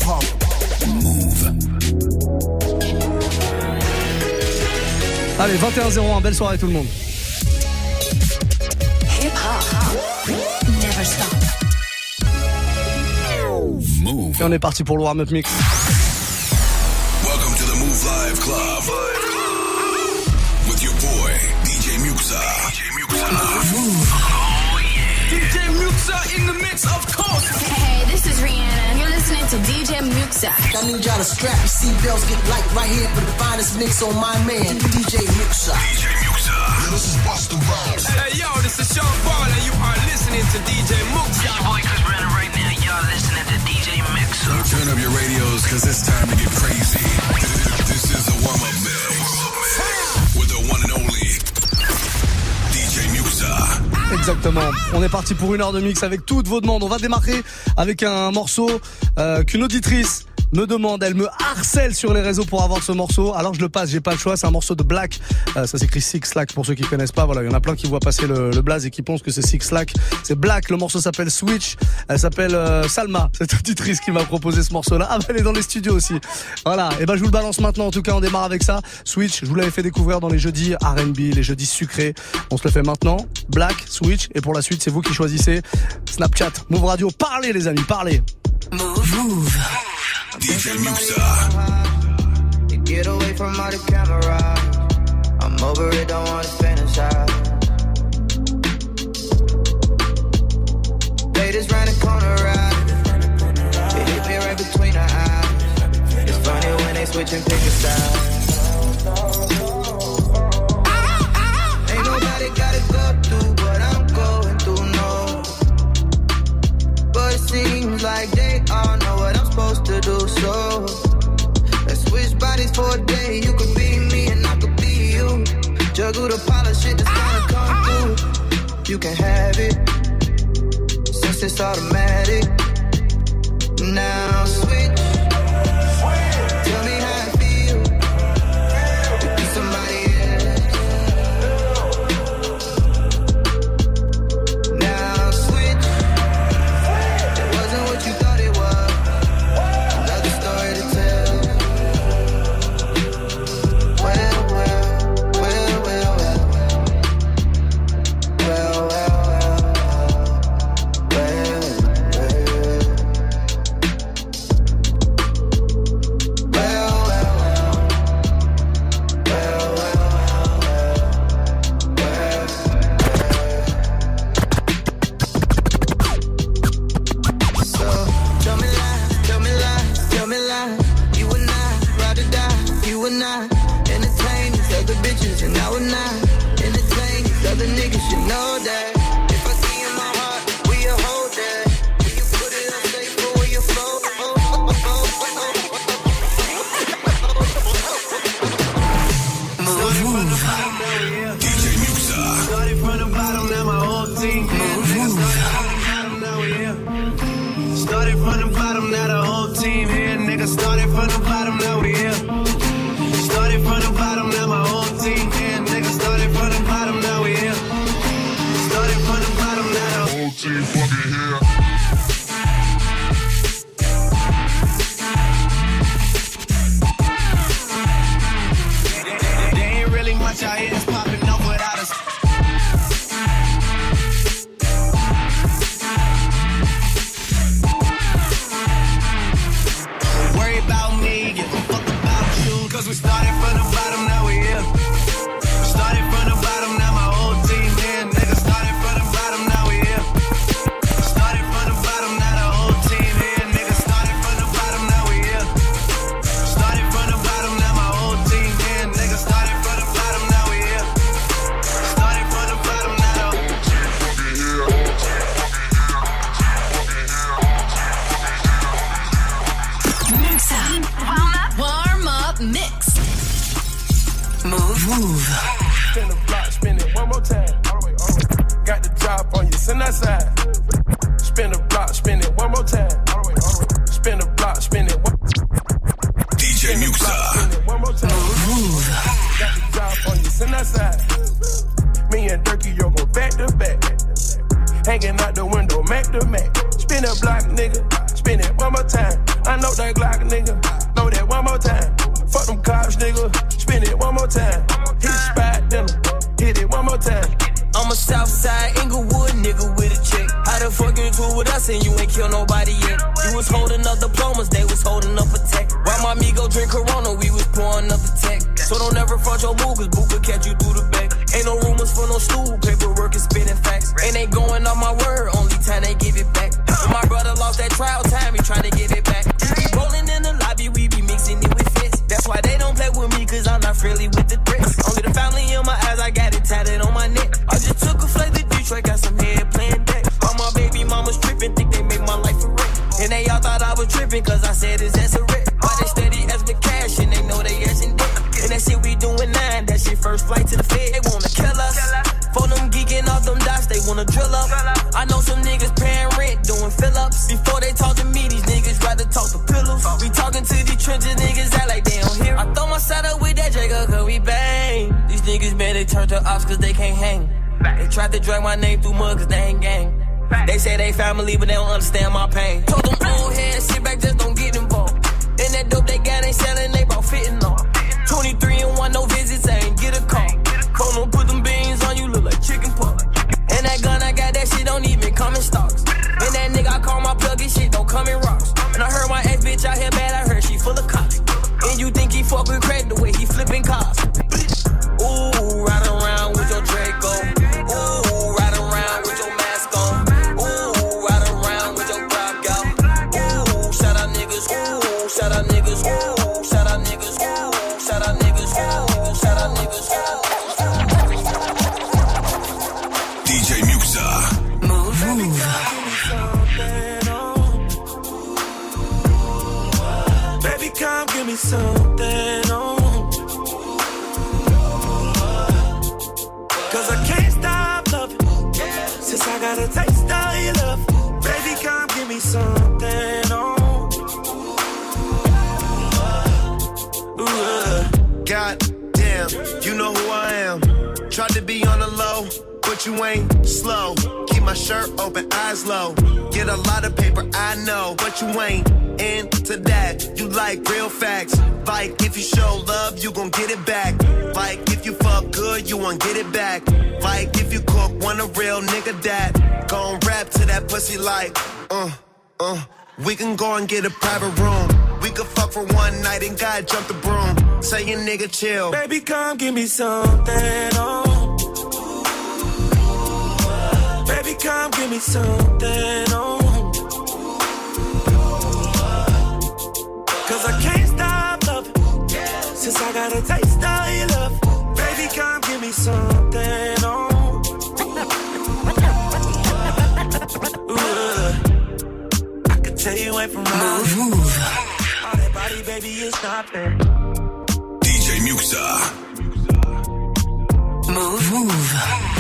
hip-hop. Move. Allez, 21-01, belle soirée tout le monde. Hip-hop, never stop. Move. Et on est parti pour le warm-up mix. Welcome to the Move Live Club. With your boy, DJ Muxa. Move. Oh yeah. DJ Muxa in the mix, of course. Hey, this is Rihanna. You're listening to DJ Muxa. I need y'all to strap your seatbelts, get light right here for the finest mix on my man, DJ Muxa. DJ Muxa. Yeah, this is Busta Rhymes. Hey, yo, this is Sean Paul, and you are listening to DJ Muxa. Your boy Chris Brennan right now. Y'all listening to DJ Muxa. So turn up your radios, cause it's time to get crazy. This is the warm-up mix. With the one and only DJ Muxa. Exactement. On est parti pour une heure de mix avec toutes vos demandes. On va démarrer avec un morceau qu'une auditrice me demande, elle me harcèle sur les réseaux pour avoir ce morceau. Alors je le passe, j'ai pas le choix, c'est un morceau de Black. Ça s'écrit Six Slack pour ceux qui connaissent pas. Voilà, il y en a plein qui voient passer le blaze et qui pensent que c'est Six Slack. C'est Black, le morceau s'appelle Switch. Elle s'appelle Salma, cette auditrice qui m'a proposé ce morceau-là. Ah bah elle est dans les studios aussi. Voilà, et ben je vous le balance maintenant. En tout cas, on démarre avec ça. Switch, je vous l'avais fait découvrir dans les jeudis R&B, les jeudis sucrés. On se le fait maintenant. Black, Switch, et pour la suite, c'est vous qui choisissez. Snapchat, Move Radio, parlez les amis, parlez. Move. DJ Muxa. Get away from all the camera. I'm over it, don't wanna fantasize. Ladies round the corner, right? It hit me right between the eyes. It's funny when they switch and pick a side. Ain't nobody gotta go through what I'm going through, no. But it seems like they all know what I'm supposed to do, so let's switch bodies for a day. You could be me and I could be you. Juggle the pile of shit that's gonna come through. You can have it, since it's automatic. Now switch. Tell me how it feels to be somebody else. Now switch. It wasn't what you thought it was. Another story to tell. Well, well, well, well, well. Well, well, well. Entertain these other bitches, and I would not entertain these other niggas. You know that if I see in my heart, we a hold that. Will you put it on safe or will you fold? DJ Muxa. Started from the bottom, now my whole team. Started from the bottom, now the whole team here. Nigga started from the bottom, now we here. Started from the bottom, now my whole team here. Nigga started from the bottom, now we here. Started from the bottom, now the whole team fucking here. There ain't really much out here that's popping up without us. Worry about me, give a fuck about you. Cause we started from the bottom, now we here. Started from the bottom, now my whole team here. Nigga started from the bottom, now we here. Started from the bottom, now the whole team here. Nigga started from the bottom, now we here. Started from the bottom, now my whole team here. Nigga started from the bottom, now we here. Started from the bottom, now the whole team fucking here. Muxa. Warm up mix. Move. Spin the block, spin it one more time. Got the drop on you, send that side. Spin the block, spin it one more time. Spin the block, spin it one. DJ Muxa. Spin it one more time. Got the drop on you, send that side. Me and Durkee, yo, go back to back. Hanging out the window, Mac to Mac. Spin a block, nigga. Spin it one more time. I know that Glock, nigga. Know that one more time. Fuck them cops, nigga. Spin it one more time. Hit the spot, then hit it one more time. I'm a Southside Inglewood nigga with a chick. How the fuck you cool with us and you ain't kill nobody yet? You was holding up diplomas, they was holding up a tech. While my amigo drink Corona, we was pouring up the tech. So don't ever front your move, cause Boo could catch you through the back. Ain't no rumors for no stool, paperwork is spitting facts. And they going on my word, only time they give it back. When my brother lost that trial time, he trying to get it back. We be rolling in the lobby, we be mixing it with fists. That's why they don't play with me, cause I'm not friendly with the threats. Only the family in my eyes, I got it tatted on my neck. I just took a flight to Detroit, got some head playing deck. All my baby mamas tripping, think they make my life a wreck. And they all thought I was tripping, cause I said it's as a wreck. Why they steady as the cash, and they know they ashin' dick. And that shit we doing 9, that shit first flight to the Fed. They wanna kill us. For them geeking off them dots, they wanna drill up. I know some niggas paying rent, doing fill-ups. Before they talk to me, these niggas rather talk to pillows. We talking to these trenches, niggas act like they don't hear. I throw my side up with that Jacob, cause we bang. These niggas, man, they turn to ops cause they can't hang. They tried to drag my name through mud cause they ain't gang. They say they family, but they don't understand my pain. Told them old heads, sit back, just don't get involved. And that dope they got ain't selling, they brought fitting on. 23 and 1, no visits, I ain't get a call. Phone don't put them beans on you, look like chicken pot. And that gun I got, that shit don't even come in stocks. And that nigga I call my plug, his shit don't come in rocks. And I heard my ex bitch out here bad, I heard she full of cops. And you think he fuck with crack the way he flipping cars. Ooh, ride around with your Draco. Ooh, ride around with your mask on. Ooh, ride around with your Glock out. Ooh, shout out niggas. Ooh, shout out niggas. Ooh, shout out niggas. Ooh, shout out niggas. Ooh, shout out niggas. DJ Muxa. Move. Baby, come give me something on. Cause I can't stop loving. Since I got a taste of your love. Baby, come give me something on. God damn, you know who I am. Tried to be on the low, but you ain't slow. Keep my shirt open, eyes low. Get a lot of paper, I know, but you ain't into that. You like real facts. Like if you show love, you gon' get it back. Like if you fuck good, you won't get it back. Like if you cook, want a real nigga that gon' rap to that pussy like, we can go and get a private room. We could fuck for one night and God jump the broom. Say your nigga chill. Baby, come give me something on. Baby, come give me something on. Cause I can't stop loving. Since I got a taste of your love. Baby, come give me something on. I can tell you ain't from mine. Move. All that body, baby, is not there. DJ Muxa. Move.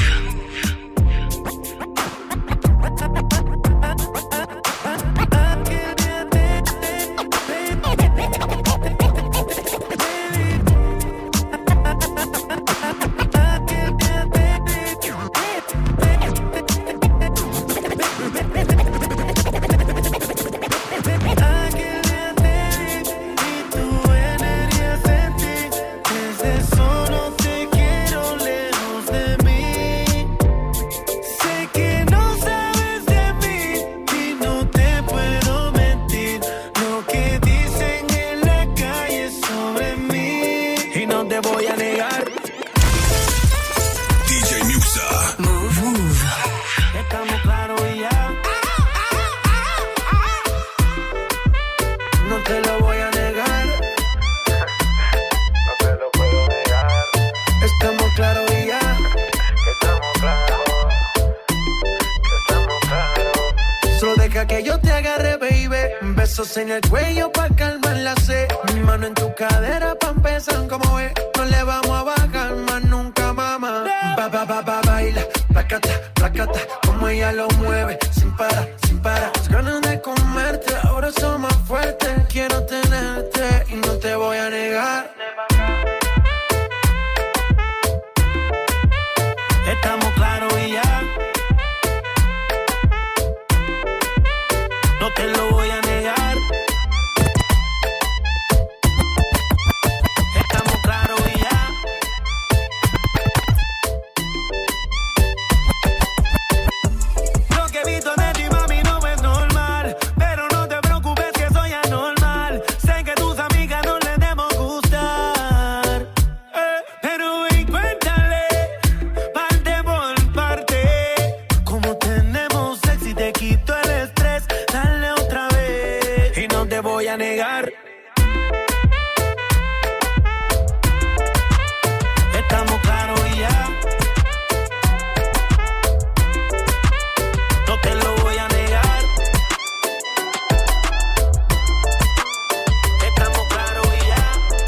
En el cuello pa' calmar la sed. Mi mano en tu cadera pa' empezar como es. No le vamos a bajar más nunca, mamá. Baila, placata, como ella lo mueve. Sin parar, las ganas de comerte, ahora son más fuertes. Quiero tenerte y no te voy a negar. Estamos claros y ya. No te lo voy a negar. a negar. Estamos claros y ya. No te lo voy a negar. Estamos claros y ya.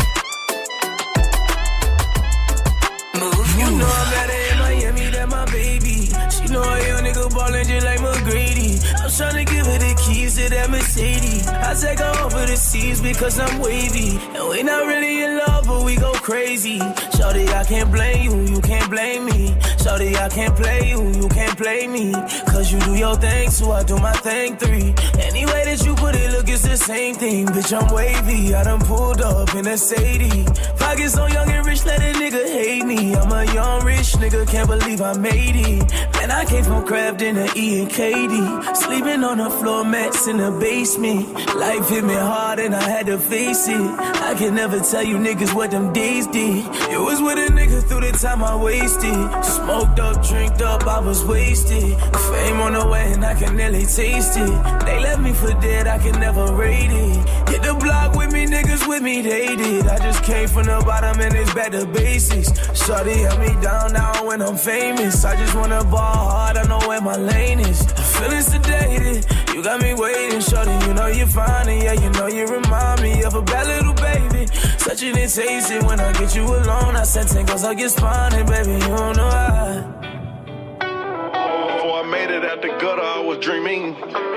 You know I'm better in Miami than my baby. She know a young nigga ballin' just like McGrady. I'm tryna give her the keys to that Mercedes. I take her over the seas because I'm wavy. And we not really in love, but we go crazy. Shorty, I can't blame you, you can't blame me. Shorty, I can't play you, you can't play me. Cause you do your thing, so I do my thing. 3. Any way that you put it, look, it's the same thing. Bitch, I'm wavy, I done pulled up in a Sadie. Pockets so young and rich, let a nigga hate me. I'm a young rich nigga, can't believe I made it. Man, I came from Crafton to E and Katie. Sleeping on the floor mats in the basement. Life hit me hard and I had to face it. I can never tell you niggas what them days did. It was with a nigga through the time I wasted. Smoked up, drinked up, I was wasted. Fame on the way and I can nearly taste it. They left me for dead, I can never rate it. Hit the block with me, niggas with me, they did. I just came from the bottom and it's back to basics. Shorty held me down now when I'm famous. I just wanna ball hard, I know where my lane is. I'm feeling sedated, you got me waiting. Shorty, you know you're fine and yeah, you know you remind me of a bad little baby. Such an taste it when I get you alone. I said 10 cause I get spawning, baby, you don't know how. Before I made it out the gutter, I was dreaming.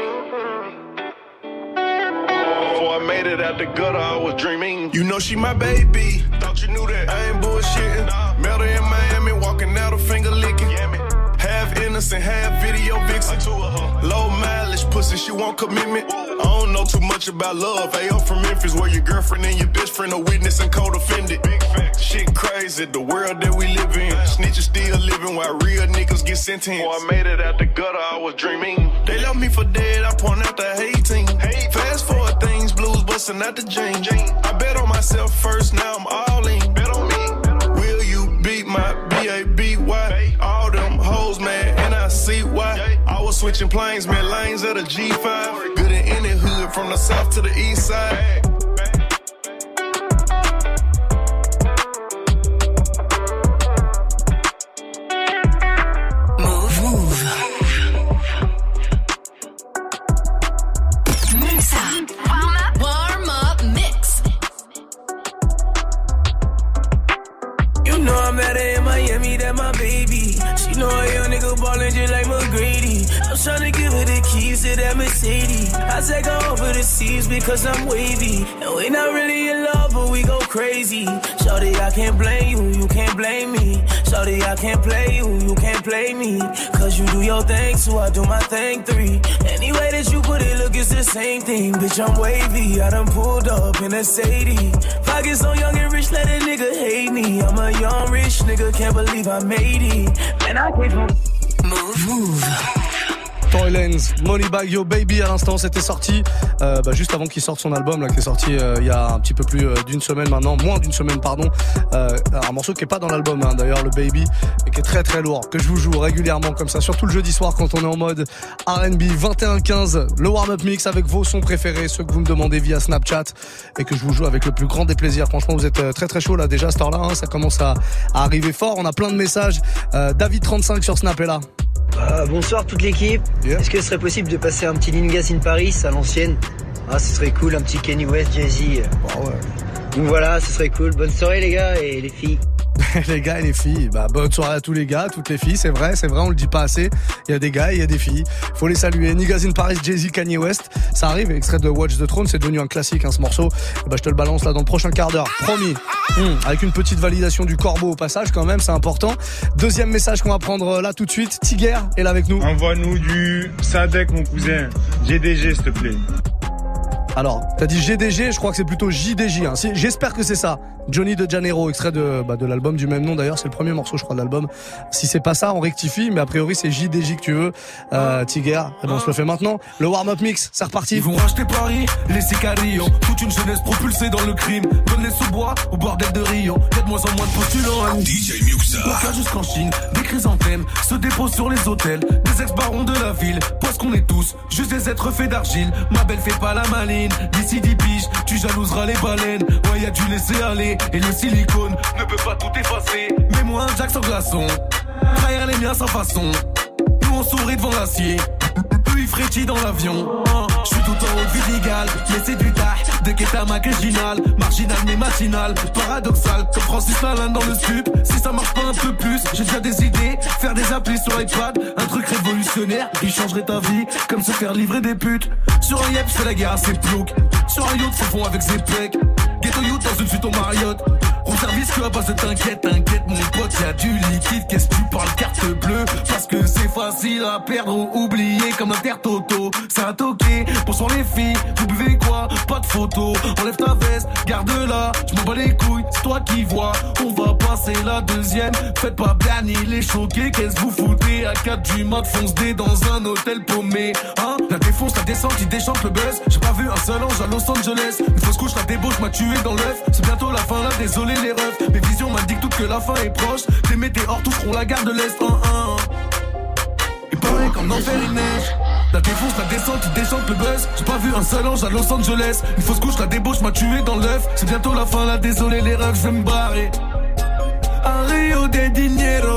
Before I made it out the gutter, I was dreaming. You know she my baby, thought you knew that. I ain't bullshitting. Met her in Miami, walking out a finger licking. Half innocent, half video vixen. Low mileage pussy, she want commitment. I don't know too much about love. Hey, I'm from Memphis, where your girlfriend and your best friend are witness and co-defendant. Shit crazy, the world that we live in. Snitches still living while real niggas get sentenced. Before I made it out the gutter, I was dreaming. They left me for dead, I point out the hating. Fast forward things, blues busting out the jeans. I bet on myself first, now I'm all in. Bet on me. Will you beat my B-A-B-Y? All them hoes, man, and I see why. I was switching planes, man, lanes at a G5. Good in any hood, from the south to the east side. Tryna give her the keys to that Mercedes. I take her over the seas because I'm wavy. And we not really in love, but we go crazy. Shorty, I can't blame you, you can't blame me. Shorty, I can't play you, you can't play me. Cause you do your thing, so I do my thing. 3. Any way that you put it, look, it's the same thing. Bitch, I'm wavy, I done pulled up in a Sadie. Pockets so young and rich, let a nigga hate me. I'm a young rich nigga, can't believe I made it. Man, I came from Move. Tory Lanez, Moneybagg Yo Baby à l'instant, c'était sorti juste avant qu'il sorte son album là, qui est sorti il y a un petit peu plus d'une semaine maintenant, moins d'une semaine pardon. Un morceau qui est pas dans l'album hein, d'ailleurs, le Baby, et qui est très très lourd, que je vous joue régulièrement comme ça, surtout le jeudi soir quand on est en mode R&B. 21-15, le warm-up mix avec vos sons préférés, ceux que vous me demandez via Snapchat et que je vous joue avec le plus grand des plaisirs. Franchement, vous êtes très très chaud là déjà à cette heure-là, hein, ça commence à arriver fort. On a plein de messages. David35 sur Snap est là. Bonsoir toute l'équipe. Yeah. Est-ce que ce serait possible de passer un petit Ningas in Paris à l'ancienne? Ce serait cool, un petit Kanye West, Jay-Z. Ouais. Donc voilà, ce serait cool. Bonne soirée les gars et les filles. Les gars et les filles, bonne soirée à tous les gars, toutes les filles, c'est vrai, on le dit pas assez. Il y a des gars et il y a des filles. Faut les saluer. Niggas in Paris, Jay-Z, Kanye West. Ça arrive, extrait de Watch the Throne, c'est devenu un classique, hein, ce morceau. Je te le balance là dans le prochain quart d'heure. Promis. Avec une petite validation du corbeau au passage, quand même, c'est important. Deuxième message qu'on va prendre là tout de suite. Tiger est là avec nous. Envoie-nous du Sadek, mon cousin. GDG, s'il te plaît. Alors, t'as dit GDG, je crois que c'est plutôt JDJ, hein. J'espère que c'est ça. Johnny de Janeiro, extrait de l'album du même nom d'ailleurs, c'est le premier morceau je crois de l'album. Si c'est pas ça, on rectifie, mais a priori c'est JDJ que tu veux. Tiger, on se le fait maintenant. Le warm-up mix, c'est reparti. Ils vont racheter Paris, les Sicarios, toute une jeunesse propulsée dans le crime. Donne les sous-bois au bordel de Rio, y'a de moins en moins de postulants. DJ Muxa. Au cas jusqu'en Chine, des chrysanthèmes se déposent sur les hôtels, des ex-barons de la ville, parce qu'on est tous juste des êtres faits d'argile. Ma belle fait pas la maline. gamine, d'ici 10 piges, tu jalouseras les baleines. Ouais, y'a du laisser aller, et le silicone ne peut pas tout effacer. Mets-moi un Jack sans glaçon, trahir les miens sans façon. Nous on sourit devant l'acier, eux ils frétillent dans l'avion. Je suis tout en haut de Vidigal, mais c'est du tah. De Guetta marginal, marginal mais matinal. Paradoxal, comme Francis Lalanne dans le stup. Si ça marche pas un peu plus, j'ai déjà des idées. Faire des applis sur iPad, un truc révolutionnaire qui changerait ta vie, comme se faire livrer des putes. Sur un yep, je fais la guerre à ses ploucs. Sur un yacht, c'est fond avec ses pecs. Ghetto youth dans une suite au Marriott. Roule service que à base de t'inquiète mon pote, y'a du liquide. Qu'est-ce que tu parles carte bleue? Parce que c'est facile à perdre ou oublier comme l'intertoto. C'est un toqué, pour sur les filles, vous buvez quoi? Pas de photo, enlève ta veste, garde-la. Je m'en bats les couilles, c'est toi qui vois. On va passer la deuxième. Faites pas Bernie les choqués, qu'est-ce que vous foutez? À 4 du mat, fonce dé dans un hôtel paumé. Hein? La défonce, la descente, il déchante le buzz. J'ai pas vu un seul ange à Los Angeles. Une fausse couche, la débauche m'a tué dans l'œuf. C'est bientôt la fin là, désolé les refs. Mes visions m'indiquent toutes que la fin est proche. Des météores toucheront la gare de l'Est. Et pareil comme l'enfer il neige. La défonce, la descente, il déchante le buzz. J'ai pas vu un seul ange à Los Angeles. Une fausse couche, la débauche m'a tué dans l'œuf. C'est bientôt la fin là, désolé les refs, je vais me barrer. À Rio de Dinero.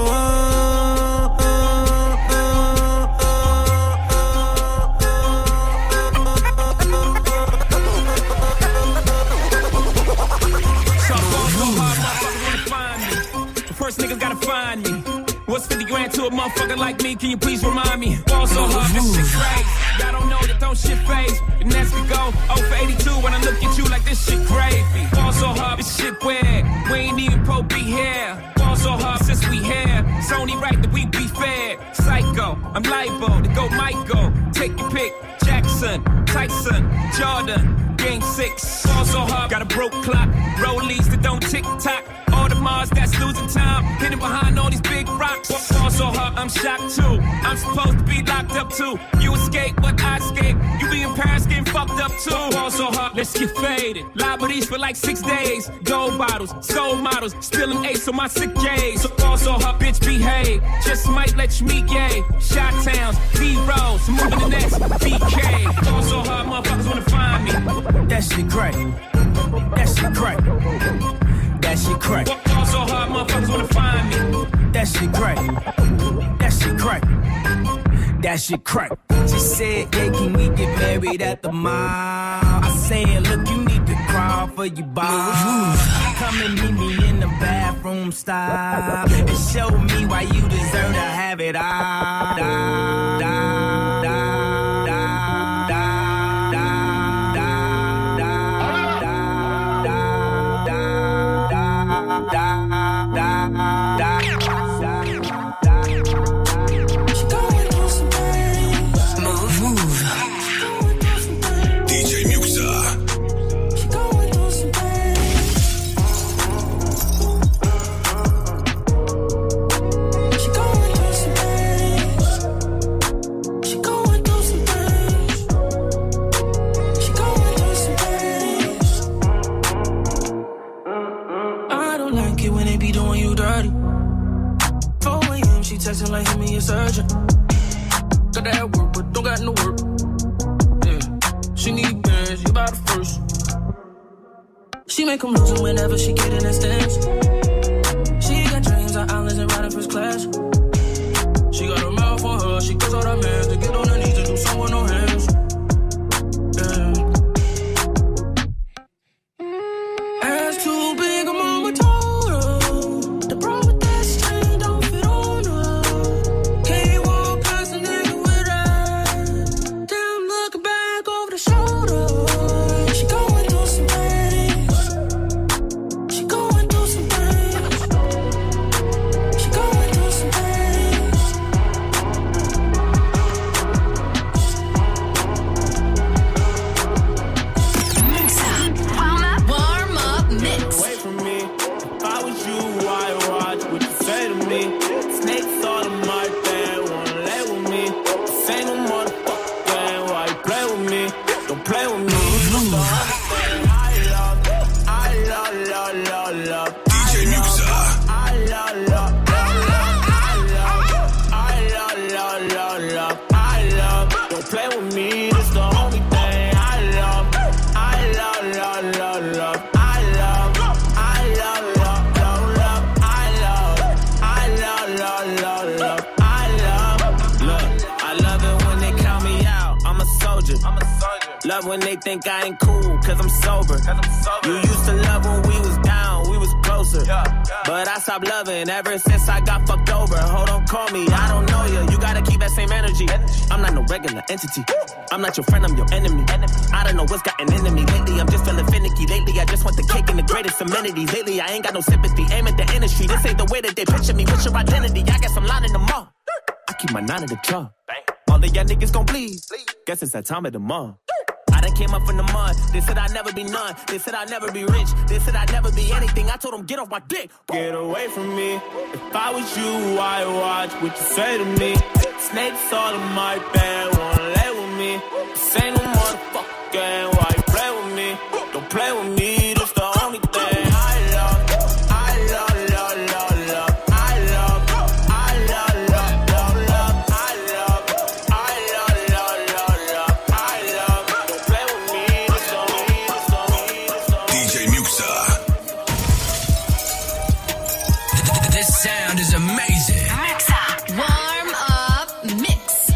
First niggas gotta find me. What's 50 grand to a motherfucker like me? Can you please remind me? Ball so hard, this shit crazy. Y'all don't know that don't shit phase. And that's we go 0 for 82 when I look at you like this shit crazy. Ball so hard, this shit weird. We ain't even pro be here. Ball so hard since we here. It's only right that we be fair. Psycho, I'm liable to go Michael. Take your pick. Jackson, Tyson, Jordan. Game 6, ball so hard, got a broke clock. Rollies that don't tick tock. All the Mars that's losing time, hidden behind all these big rocks. Ball so hard, I'm shocked too. I'm supposed to be locked up too. You escape, but I escape. You be in Paris getting fucked up too. Ball so hard, let's get faded. Liberties for like 6 days. Gold bottles, soul models, spilling ace on my sick days. So ball so hard, bitch behave. Just might let you meet gay. Shot towns, B-rolls, moving the next BK. Ball so hard, motherfuckers wanna find me. That shit crack. That shit crack. That shit crack. Ball so hard, motherfuckers wanna find me. That shit crack. That shit crack. That shit crack. She said, yeah, can we get married at the mall? I said, look, you need to crawl for your bar. Come and meet me in the bathroom style and show me why you deserve to have it all. Texting like hit me a surgeon. Got that work, but don't got no work. Yeah, she need bands, you about the first. She make them lose whenever she get in that stance. She got dreams on islands and riding first class. She got a mouth for her, she goes out her man to get on her knees to do something with no hands. Yeah. Ass too big, I'm on my total. The problem. when they think I ain't cool, cause I'm sober. You used to love when we was down, we was closer. But I stopped loving ever since I got fucked over. Hold on, call me, I don't know you. You gotta keep that same energy. I'm not no regular entity. I'm not your friend, I'm your enemy. I don't know what's gotten into me lately. I'm just feeling finicky. Lately, I just want the cake and the greatest amenities. Lately, I ain't got no sympathy. Aim at the industry. This ain't the way that they picture me. What's your identity? I guess I'm lining them up. I keep my 9 at the jaw. All of y'all niggas gon' bleed. Guess it's that time of the month. I done came up from the mud. They said I'd never be none. They said I'd never be rich. They said I'd never be anything. I told them, get off my dick. Get away from me. If I was you, I'd watch what you say to me. Snakes all in my bed, wanna lay with me. This ain't no motherfucking game. Why you play with me? Don't play with me. That's the only thing I love. I love, love, love, love. I love, I love, love, love, love. I love, I love, love, love, love. I love. Don't play with me. That's the only, that's the only, that's the only. DJ Muxa. This sound is amazing. Warm up mix.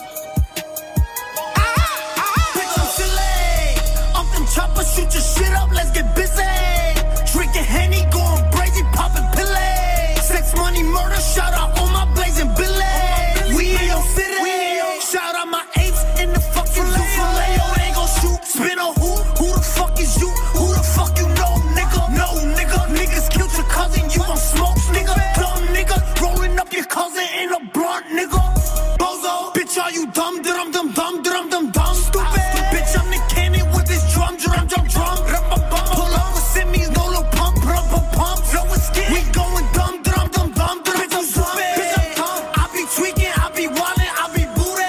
Up them choppers, shoot your shit up, let's get busy. Drinking Henny, going crazy, popping pillay. Sex, money, murder, shout out all my blazing billy. We in your city. Shout out my apes in the fucking zoo filet. Oh, they gon' shoot, spin a who? Who the fuck is you? Who the fuck you know, nigga? No, nigga. Niggas killed your cousin, you gon' smoke, nigga. Dumb nigga, rolling up your cousin in a blunt, nigga. Bozo, bitch, are you dumb? Dum dum dum dum dum dum. Stupid, bitch, I'm the cannon with this drum, drum, drum, drum. Pull up with Simmy's, no little pump, pump, pump. Flow with skin, we going dumb, dum, dum, dum, dum. Bitch, I'm stupid, bitch, I'm dumb. I be tweaking, I be wildin', I be booty.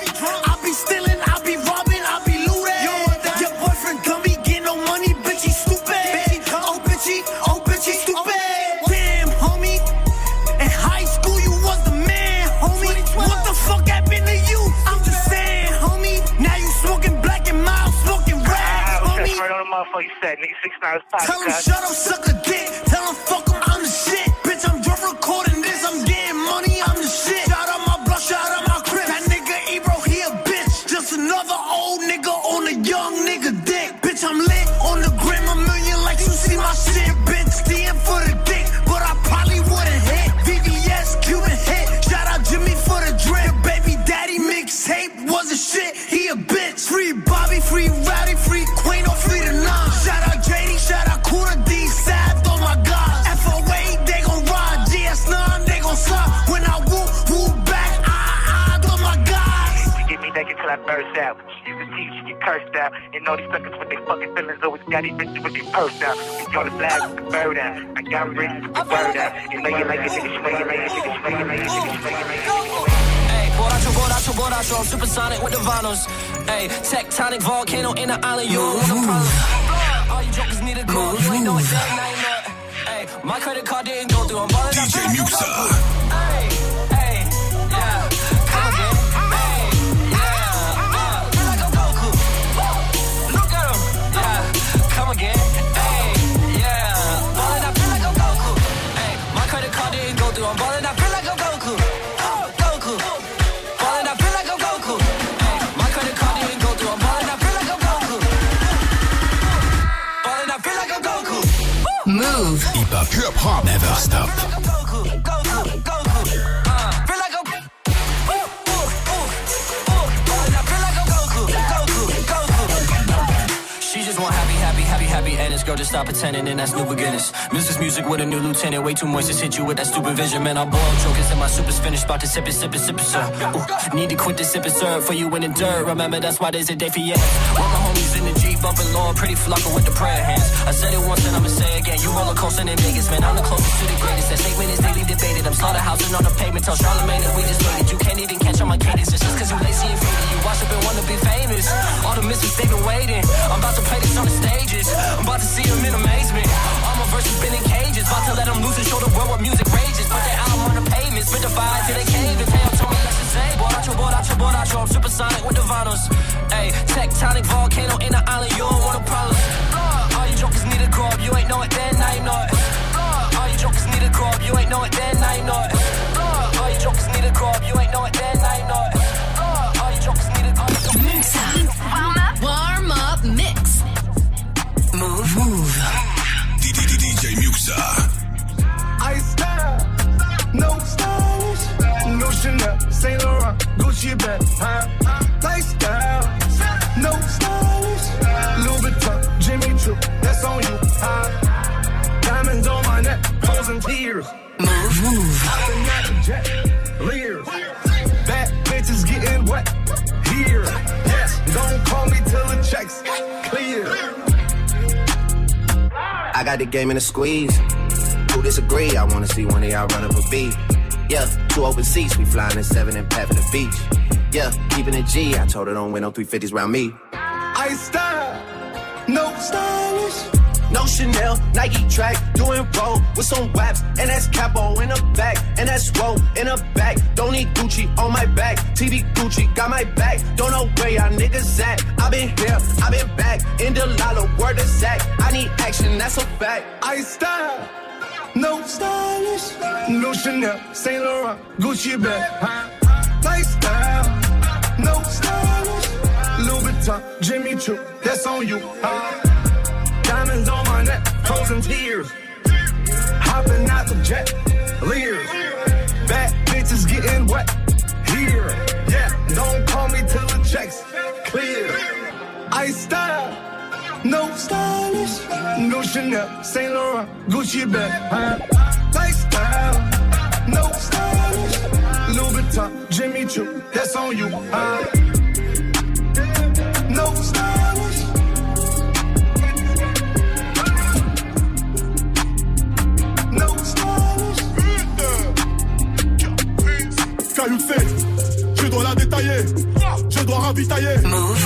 I be stealing, I be robbing, I be looting. Your boyfriend dummy, get no money, bitch, he stupid. Oh, bitch, he stupid. Damn, homie. In high school, you was the man, homie. What the fuck happened to you? I'm just saying, homie. Now you smoking black and mild, smoking rags, homie. Right on the motherfucker you said, nigga. 6 9 Tell him shut up, suck a dick. Tell him fuck him, I'm the shit. Bitch, I'm just recording this, I'm getting money, I'm the shit. Shout out my blood, shout out my crib. That nigga Ebro, he a bitch. Just another old nigga on a young nigga dick. Bitch, I'm lit on the gram, a million likes, you see my shit. Bitch, stand for the dick, but I probably wouldn't hit. VVS, Cuban hit. Shout out Jimmy for the drip. Baby daddy mixtape was a shit, he a bitch. Free Bobby, free Rowdy, free Queen, or free the nine. Shout out JD, shout out Kuna D, Sav, oh my God. FOA, they gon' ride. GS9, they gon' slide. When I woo back, oh my God. You get me naked till I burst out. She used to teach, she get cursed out. And all these suckers with their fucking feelings always got these bitches with their purse out. We on the flag with the bird out. I got rich with the bird out. You know you like it, nigga, swing it, nigga, swing it, nigga, swing it, nigga. Borracho, I'm supersonic with the vinyls. Ayy, tectonic volcano in the island, you don't want a problem. All you jokers need a call, you ain't know it, damn, now you know it. Ayy, my credit card didn't go through, I'm ballin' up. DJ Muxa. Ayy, yeah, come again. Ayy, yeah, feel like I'm Goku. Look at him, yeah, come again. Ayy, yeah, ballin' up, feel like I'm Goku. Ayy, my credit card didn't go through, I'm ballin' up, feel like I'm Goku. Move. Hip hop never stop. She just want happy, and this girl just stop pretending, and that's new beginners. Mrs. Music with a new lieutenant, way too much to hit you with that stupid vision. Man, I boil jokers and my super's finished, about to sip it, sir. Ooh, need to quit the sip it, sir, for you in the dirt. Remember, that's why there's a day for you. All my homies in the Jeep, bumping Lord, pretty flocking with the prayer hands. I said it once and I'ma say again, you roller coasting in Vegas, man, I'm the closest to the greatest. That statement is daily debated, I'm slaughterhousing on the pavement, tell Charlamagne that we just waited. You can't even catch on my cadence, it's just cause you lazy and faded. You watch up and wanna be famous, all the misfits they've been waiting. I'm about to play this on the stages, I'm about to see them in amazement. All my verses been in cages, about to let them loose and show the world what music rages. Put their album on the pavement, spit the fire till they cave. And Taylor told me yes to say, borracho, I'm supersonic with the vinyls. Ayy, tectonic volcano in the island, you don't want a problem. All you jokers need to grow up, you ain't know it then, now you know it. All you jokers need to grow up, you ain't know it then, now you know it. All you jokers need to grow up, you ain't know it then, now you know it. All you jokers need to grow up. Warm up. got the game in a squeeze. Who disagree? I wanna see one of y'all run up a beat. Yeah, 2 open seats, we flying in 7 and pat for the beach. Yeah, keeping it G, I told her don't win no 350s round me. I style, no stylish. No Chanel, Nike track, doing roll with some waps, and that's capo in the back, and that's roll in the back. Don't need Gucci on my back, TV Gucci got my back. Don't know where y'all niggas at. I been here, I been back, in the lala, word of Zach. I need action, that's a fact. I style, no stylish. No Chanel, Saint Laurent, Gucci bag. Lifestyle, no stylish. Louis Vuitton, Jimmy Choo, that's on you. Diamonds on my neck, frozen tears. Hopping out the jet, leers. Bad bitches getting wet here. Yeah, don't call me till the checks clear. I style, no stylish. No Chanel, Saint Laurent, Gucci bag. Lifestyle, no stylish. Louis Vuitton, Jimmy Choo, that's on you. No stylish. Caillou C, je dois la détailler, je dois ravitailler.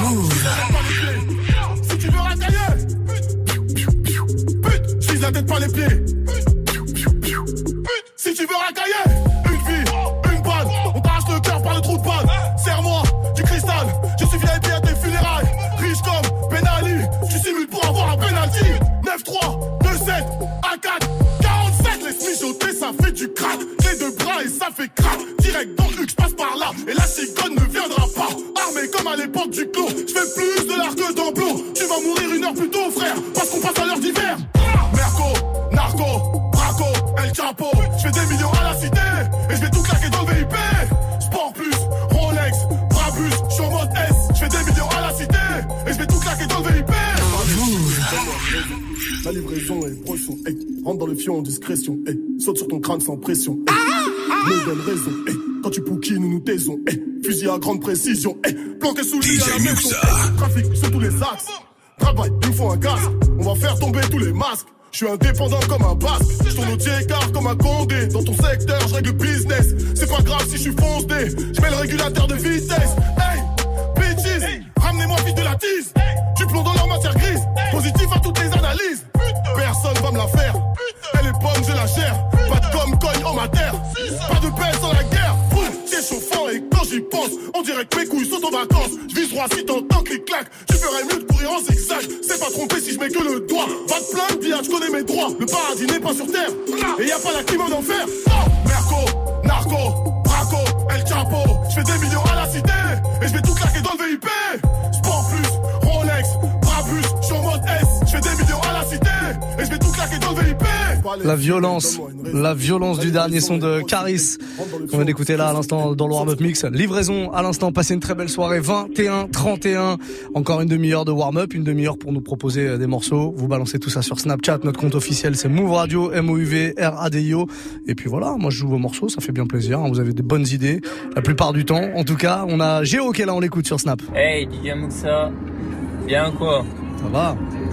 Si tu veux racailler, pute, je vise la tête pas les pieds. Si tu veux racailler, une vie, une balle, on t'arrache le cœur par le trou de balle. Serre-moi du cristal, je suis VIP à tes funérailles. Riche comme Ben Ali, tu simules pour avoir un penalty. 9-3, 2-7, A4, 47, laisse mijoter, ça fait du crack. J'ai 2 bras et ça fait crack. Direct dans le je passe par là, et la cigogne ne viendra pas. Armé comme à l'époque du clos, je fais plus de l'art que d'emploi. Tu vas mourir 1 heure plus tôt, frère, parce qu'on passe à l'heure d'hiver. Merco, narco, braco, El Chapo, je fais des millions à la cité, et je vais tout claquer dans le VIP. Sport plus, Rolex, Brabus, je suis en mode S, je fais des millions à la cité, et je vais tout claquer dans le VIP. La livraison est brochon, hey. Rentre dans le fion en discrétion, hey. Saute sur ton crâne sans pression, hey. Me donne raison, hey. Quand tu pouquines, nous taisons, hey. Fusil à grande précision, hey. Planqué sous lui à la maison, hey. Trafic sur tous les axes. Travail, il me faut un casque. On va faire tomber tous les masques. Je suis indépendant comme un basque. Je tourne au écart comme un condé. Dans ton secteur, je règle le business. C'est pas grave si je suis foncé. Je mets le régulateur de vitesse. Hey, bitches, hey. Ramenez-moi fils de la tise. Hey. Du plomb dans leur matière grise. Hey. Positif à toutes les analyses. Personne va me la faire. Elle est bonne, je la gère. Pas de gomme, cogne en matière. Pas de peine sans la guerre. C'est chauffant et quand j'y pense, on dirait que mes couilles sont en vacances. Je vise droit si t'entends clic-clac. Tu ferais mieux de courir en zigzag. C'est pas trompé si je mets que le doigt. Va te plaindre, Dia, je connais mes droits. Le paradis n'est pas sur terre. Et y a pas la clim en enfer. Merco, narco, braco, El Chapo. Je fais des millions à la cité. Et je vais tout claquer dans le VIP. Sport plus, Rolex, Brabus, je suis en mode S. Je fais des millions à la cité. Et je vais tout claquer dans le VIP. La violence du dernier son de Caris. On vient d'écouter là à l'instant dans le warm-up mix. Livraison à l'instant, passez une très belle soirée. 21-31. Encore une demi-heure de warm-up, une demi-heure pour nous proposer des morceaux. Vous balancez tout ça sur Snapchat. Notre compte officiel c'est Move Radio, MOUV RADIO. Et puis voilà, moi je joue vos morceaux, ça fait bien plaisir. Vous avez des bonnes idées. La plupart du temps, en tout cas, on a Géo qui est là, on l'écoute sur Snap. Hey DJ Muxa, bien quoi? Ça va?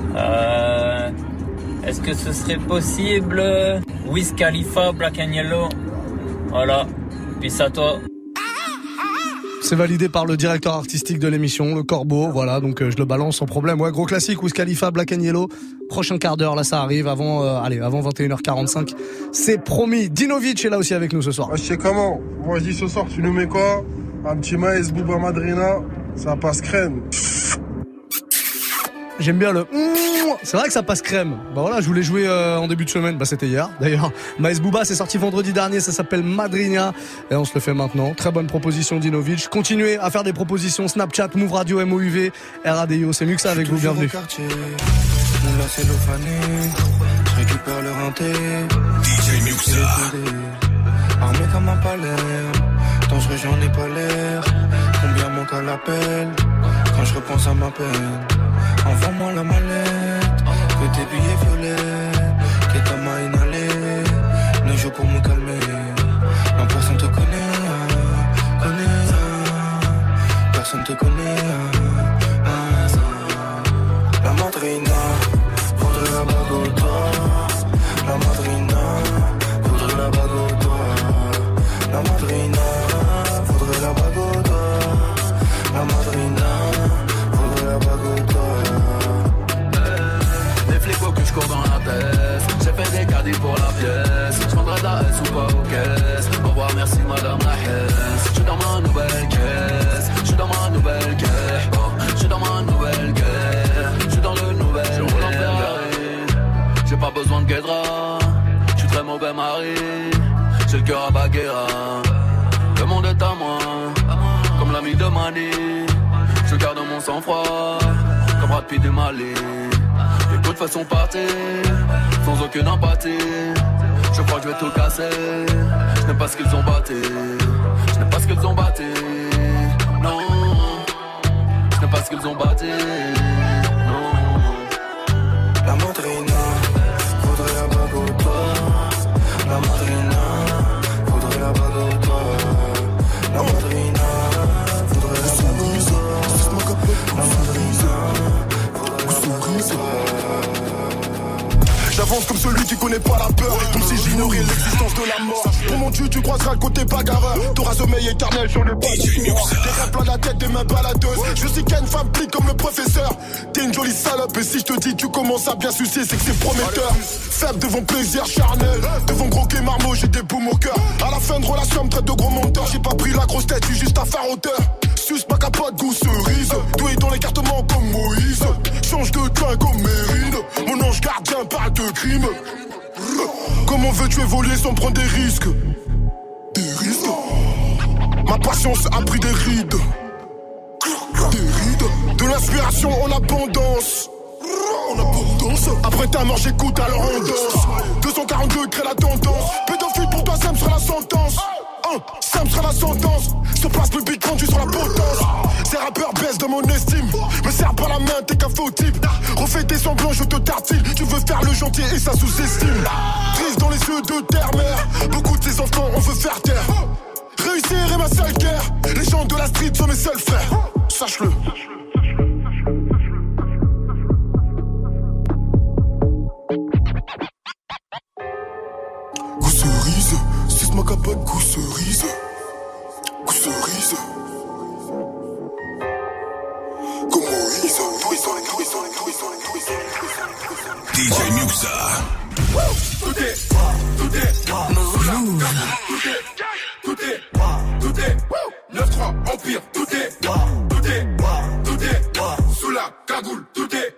Est-ce que ce serait possible Wiz Khalifa, Black and Yellow? Voilà, peace à toi. C'est validé par le directeur artistique de l'émission, le Corbeau, voilà, donc je le balance sans problème. Ouais, gros classique, Wiz Khalifa, Black and Yellow. Prochain quart d'heure, là ça arrive, avant 21h45. C'est promis. Dinovic est là aussi avec nous ce soir. Je sais comment. Moi je dis ce soir, tu nous mets quoi? Un petit Maes Bouba Madrina, ça passe crème. J'aime bien le... C'est vrai que ça passe crème. Bah voilà, je voulais jouer en début de semaine. Bah c'était hier d'ailleurs. Maes Bouba, c'est sorti vendredi dernier. Ça s'appelle Madrina. Et on se le fait maintenant. Très bonne proposition Dinovic. Continuez à faire des propositions. Snapchat, Move Radio, MOUV, RADIO. C'est Muxa avec vous. Bienvenue. Mon lacet l'eau fanée, je récupère le rinté. DJ Muxa. Armé comme un palais, dangereux j'en ai pas l'air. Combien manque à l'appel, quand je repense à ma peine. Envoie-moi la mallette, que tes billets violets, que ta main inhalée, ne joue pour me calmer. Non, personne te connaît, personne te connaît. La madrina, faudrait la Bogota. Paris. J'ai le cœur à Baguera. Le monde est à moi, comme l'ami de Mani. Je garde mon sang-froid, comme Brad Pitt et Mali. Les côtes façon partir, sans aucune empathie. Je crois que je vais tout casser. Je n'aime pas ce qu'ils ont battu. Je n'aime pas ce qu'ils ont battu. Non, je n'aime pas ce qu'ils ont battu. Non. La madrina voudrait la bague au doigt. La madrina voudrait la bague au doigt. La madrina voudrait la bague au doigt. La madrina voudrait la bague au doigt. J'avance comme celui qui connaît pas la peur, comme si j'ignorais l'existence de la mort. Pour mon tu croiseras le côté bagarreur. T'auras sommeil éternel sur le bas. Des rêves plein la tête, des mains baladeuses. Je sais qu'il y a une femme plique comme le professeur. T'es une jolie salope et si je te dis tu commences à bien sucer, c'est que c'est prometteur. Faible devant plaisir charnel, devant gros quai marmot, j'ai des boumes au cœur. À la fin de relation, me traite de gros menteur. J'ai pas pris la grosse tête, j'ai juste un phare hauteur. Suce ma capote, goût cerise. Doué dans l'écartement comme Moïse. Change de teint comme Mérine. Mon ange gardien parle de crime. Comment veux-tu évoluer sans prendre des risques? Des risques. Ma patience a pris des rides. Des rides. De l'inspiration en abondance. En abondance. Après ta mort j'écoute alors on danse. 242 crée la tendance. Pédophile pour toi ça me sera la sentence. Ça me sera la sentence. Se passe le beat rendu sur la potence. Ces rappeurs baissent de mon estime. Me serre pas la main, t'es qu'un faux type. Refais tes semblants, je te tartine. Tu veux faire le gentil et ça sous-estime. Triste dans les yeux de terre-mère. Beaucoup de ces enfants on veut faire taire. Réussir est ma seule guerre. Les gens de la street sont mes seuls frères. Sache-le. Goût cerise. C'est ma capote, goût cerise. Goût cerise. Comme Moïse. DJ Muxa. Tout est Move. Tout est 9-3 Empire, tout est sous la cagoule, tout est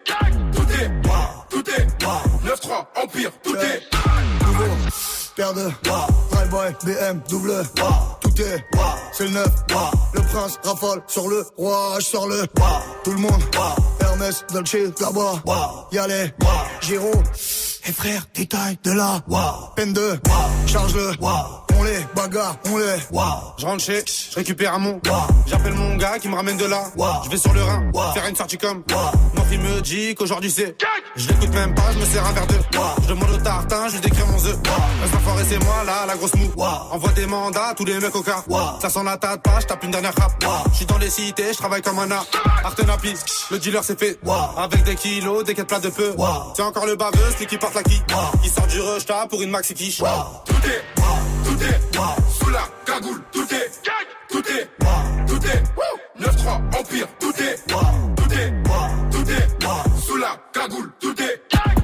9-3 Empire, tout est nouveau, paire de Drive-by, BM, double, tout est, c'est le 9, le prince rafale sur le roi, je sors le, tout le monde, Hermès, Dolce, là-bas, Yalé, Giro, et frère, détail de là, peine de, charge-le, on les bagarre, on les. Je rentre chez, je récupère un mon. J'appelle mon gars qui me ramène de là. Je vais sur le Rhin, faire une sortie comme. Mon fils me dit qu'aujourd'hui c'est. Je l'écoute même pas, je me sers un verre d'eau. Je demande au tartin, je lui décris mon œuf. Reste enfoiré, c'est moi là, la grosse moue. Envoie des mandats, tous les mecs au cas. Ça sent la tâte pas, je tape une dernière rap. Je suis dans les cités, je travaille comme un art. Artenapi, le dealer c'est fait. Avec des kilos, des quêtes plats de peu. C'est encore le baveux, celui qui porte la qui. Il sort du rush, pour une maxi quiche. Tout est sous la cagoule, tout est 9-3 Empire, tout est sous la cagoule, tout est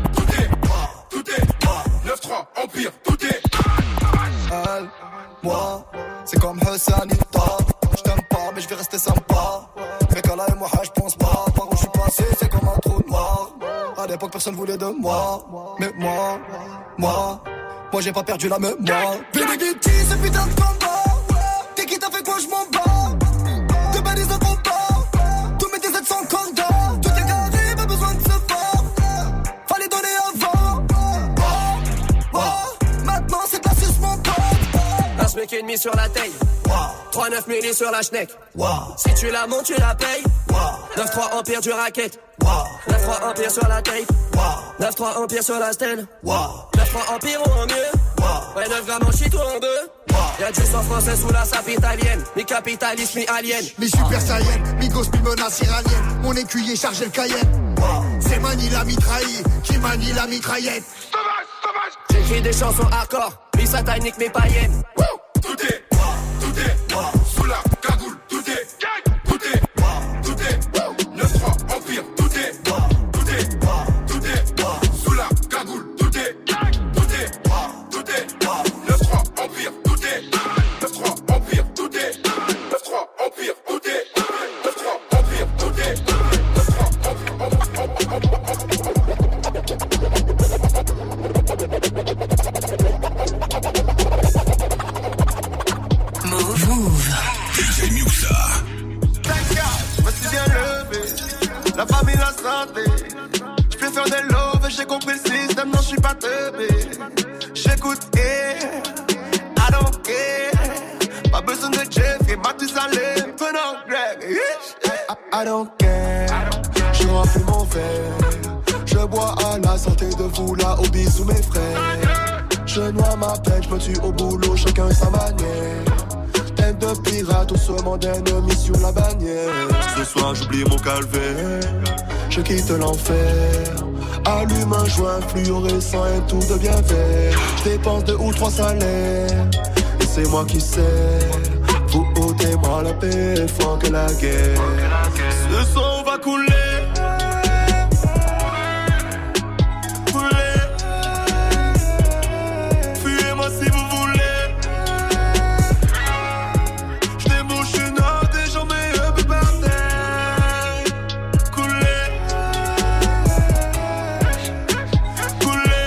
9-3 Empire, tout est elle, moi, c'est comme Hussein Ita. J't'aime pas mais je vais rester sympa. Mais quand là et moi je pense pas. Par où je suis passé c'est comme un trou noir. À l'époque personne voulait de moi. Mais moi j'ai pas perdu la mémoire. Benedicti, ce putain de combat. T'es qui t'a fait quoi, je m'en bats. De balises de combat. Tous mes DZ sont cordons. Tout est carré, pas besoin de se voir. Fallait donner avant. Maintenant c'est de la suce, mon pote. Un SMIC et demi sur la taille. 3-9 milli sur la schneck. Si tu la montes, tu la payes. 9-3 Empire du racket. 9-3 Empire sur la tape. 9-3 Empire sur la stand. 9-3 Empire ou en mieux. Ouais, 9 grammes en shit ou en deux. Y'a du sang français sous la sape italienne. Mi-capitaliste, mi-alien. Mi-super saiyan, mi-gosse, mi-menace iranienne. Mon écuyer chargé le Cayenne. C'est Mani la mitraille qui manie la mitraillette. J'écris des chansons hardcore, mi-satanique, mi-païenne. Tout est sous la cagoule, tout est 9-3 Empire, tout est sous la cagoule, tout est 9-3 Empire, tout est 9-3 Empire, tout est 9-3 Empire, tout est 9-3 Empire, tout est 9-3 Empire. faire des loves, j'ai compris le système, non, je suis pas teubé. J'écoute, I don't care. Pas besoin de Jeff et Mathusalem, venant Greg. I don't care. Je remplis mon verre. Je bois à la santé de vous là, au bisous mes frères. Je noie ma peine, je me tue au boulot, chacun sa manière. Tête de pirate, on se demande ennemi sur la bannière. Ce soir j'oublie mon calvaire, je quitte l'enfer. Allume un joint fluorescent et tout devient vert. Je dépense 2 ou 3 salaires, et c'est moi qui sers. Vous ôtez-moi la paix, faut que la guerre. Ce soir on va couler. Si vous voulez, je débouche une note et j'en mets un peu par terre. Couler, couler,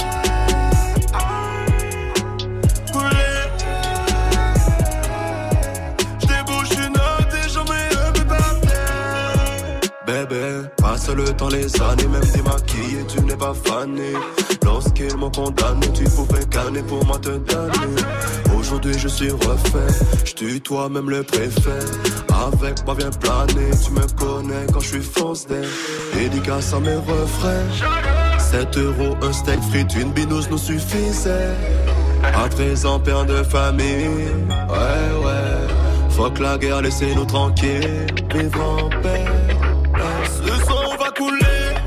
couler. Je débouche une note et j'en mets un peu par terre. Bébé, passe le temps, les années, même démaquillé, tu n'es pas fané. Lorsqu'ils m'ont condamné, tu pouvais canner pour moi te donner. Aujourd'hui je suis refait, je tutoie même le préfet. Avec moi viens planer, tu me connais quand je suis fonce-day. Dédicace à mes refrains. 7 € un steak frites, une binouse nous suffisait. À 13 ans père de famille, ouais. Fuck la guerre, laissez-nous tranquilles, vivre en paix. Ce soir on va couler.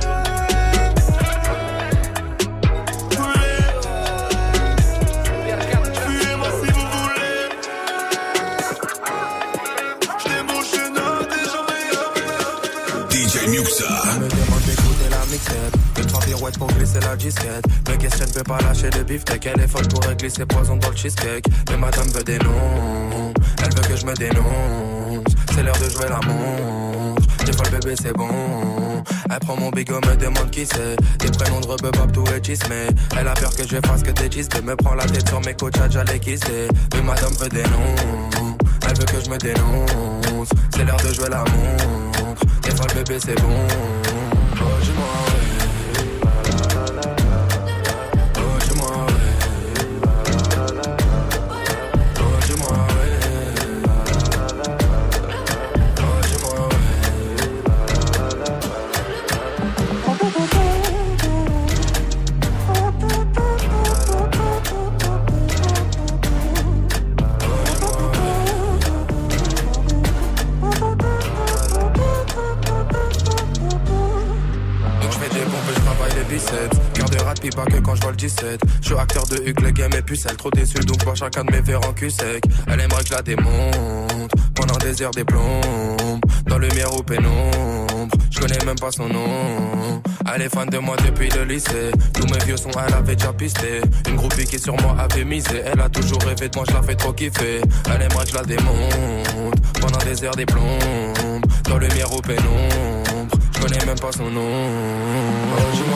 Me demande d'écouter la mixette, 2-3 pirouettes pour glisser la disquette. Me question ne peut pas lâcher de beefsteak. Elle est folle pour glisser poison dans le cheesecake. Mais madame veut des noms, elle veut que je me dénonce. C'est l'heure de jouer la montre, j'ai pas le bébé c'est bon. Elle prend mon bigot, me demande qui c'est. Des prénoms de rebeu, tout est chismé. Elle a peur que je fasse que des chistes. Me prend la tête sur mes coachs, j'allais kisser. Mais madame veut des noms, elle veut que je me dénonce. C'est l'heure de jouer la montre, des fois le bébé c'est bon. Oh dis-moi puis pas que quand je vois le 17. Je suis acteur de Hugues, le game est pucelle. Trop déçu donc vois chacun de mes verres en cul sec. Elle aimerait que je la démonte pendant des heures des plombes. Dans lumière ou pénombre, je connais même pas son nom. Elle est fan de moi depuis le lycée. Tous mes vieux sons elle avait déjà pisté. Une groupie qui sur moi avait misé. Elle a toujours rêvé de moi, je la fais trop kiffer. Elle aimerait que je la démonte pendant des heures des plombes. Dans lumière ou pénombre, je connais même pas son nom. Oh, dis-moi.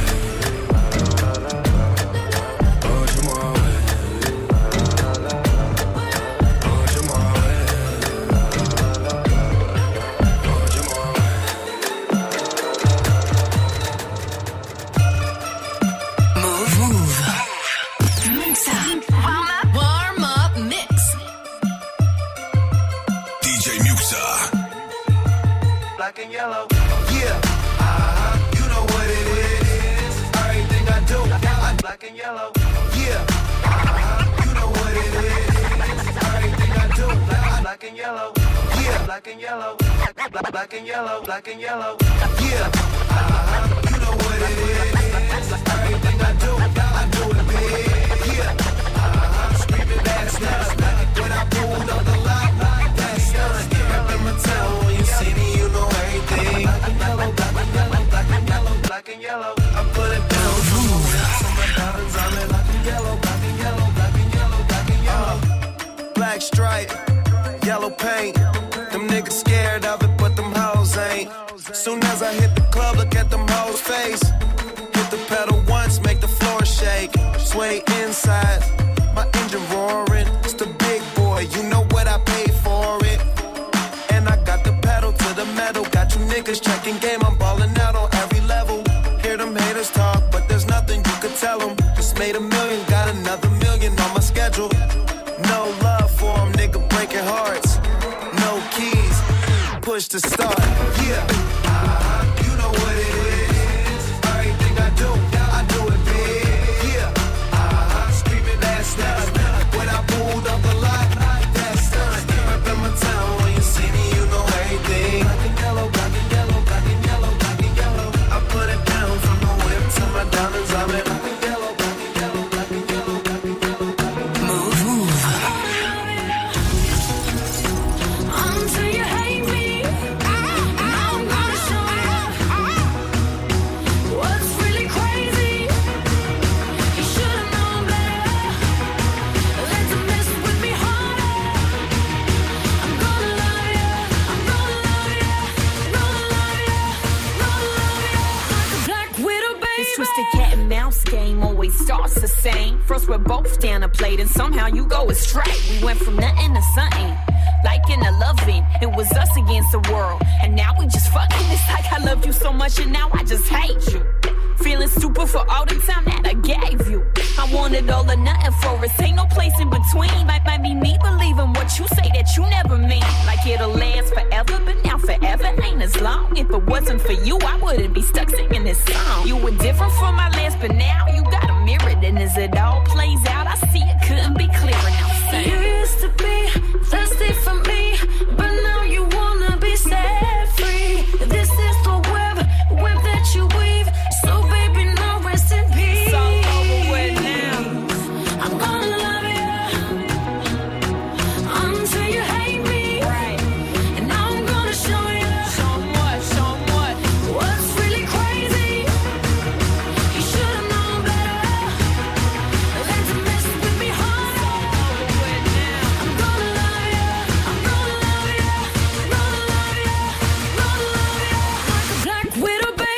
Black and yellow, yeah, you know what it is. Everything I do, I'm black and yellow, yeah, you know what it is. Everything I do, I'm black and yellow, yeah, black and yellow, black and yellow, black and yellow, yeah, you know what it is. Everything I do it big, yeah, screaming that's nuts. When I pulled up the lot, that's nuts. Up in my town, when you see me, you know everything. Black and yellow, black and yellow, black and yellow, black and yellow. I put it down, so my diamonds on it. Black and yellow, black and yellow, black and yellow, black and yellow. Black stripe, yellow paint. Them niggas scared of it, but them hoes ain't. Soon as I hit the club, look at them hoes' face. Hit the pedal once, make the floor shake. Sway inside, my engine roaring. It's the big boy, you know what I paid for it. And I got the pedal to the metal. Got you niggas checking game, I'm ballin' out on every level. just made $1 million, got another $1 million on my schedule. No love for them, nigga breaking hearts. No keys, push to start. Yeah, you know what it is. Everything I do it big. Yeah, screaming last night when I pulled up the lot. That's done. Up in my town when you see me, you know everything. Black and yellow, black and yellow, black and yellow, black and yellow. I put it down from the whip to my diamonds. I'm in black and yellow, black and yellow, black and yellow, black and yellow, black and yellow. Move. Until you hate me, now I'm gonna show you what's really crazy. You should've known better. Let them mess with me harder. I'm gonna love you, I'm gonna love you, gonna love you, gonna love you like a black widow, baby. This twisted cat and mouse game always starts the same. First we're both down a plate and somehow you go astray. We went from nothing to something, liking to loving. It was us against the world, and now we just fucking. It's like I loved you so much and now I just hate you. Feeling stupid for all the time that I gave you. I wanted all or nothing for us, ain't no place in between. Might be me believing what you say that you never mean. Like it'll last forever, but now forever ain't as long. If it wasn't for you, I wouldn't be stuck singing this song. You were different from my last, but now you got a mirror. And as it all plays out, I see it couldn't be clearer now. You used to be thirsty for me, but now you wanna be set free. This is the web that you weave. So baby, now rest in peace. It's all over with now. I'm gonna love you until you hate me. Right. And now I'm gonna show you what's really crazy. You should've known better. Let them mess with me harder. I'm gonna love you, I'm gonna love you, gonna love you, gonna love you like a black widow, baby.